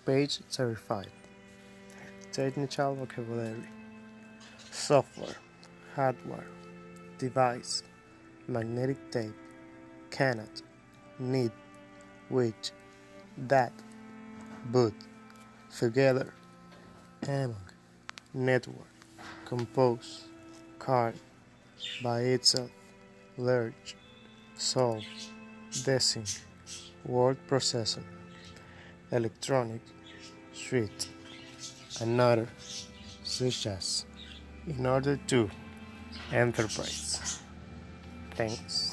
Page 35. Technical vocabulary: software, hardware, device, magnetic tape, cannot, need, which, that, but, together, among, network, compose, card, by itself, large, solve, design, word processor, electronic, suite, another, such as, in order to, enterprise. Thanks.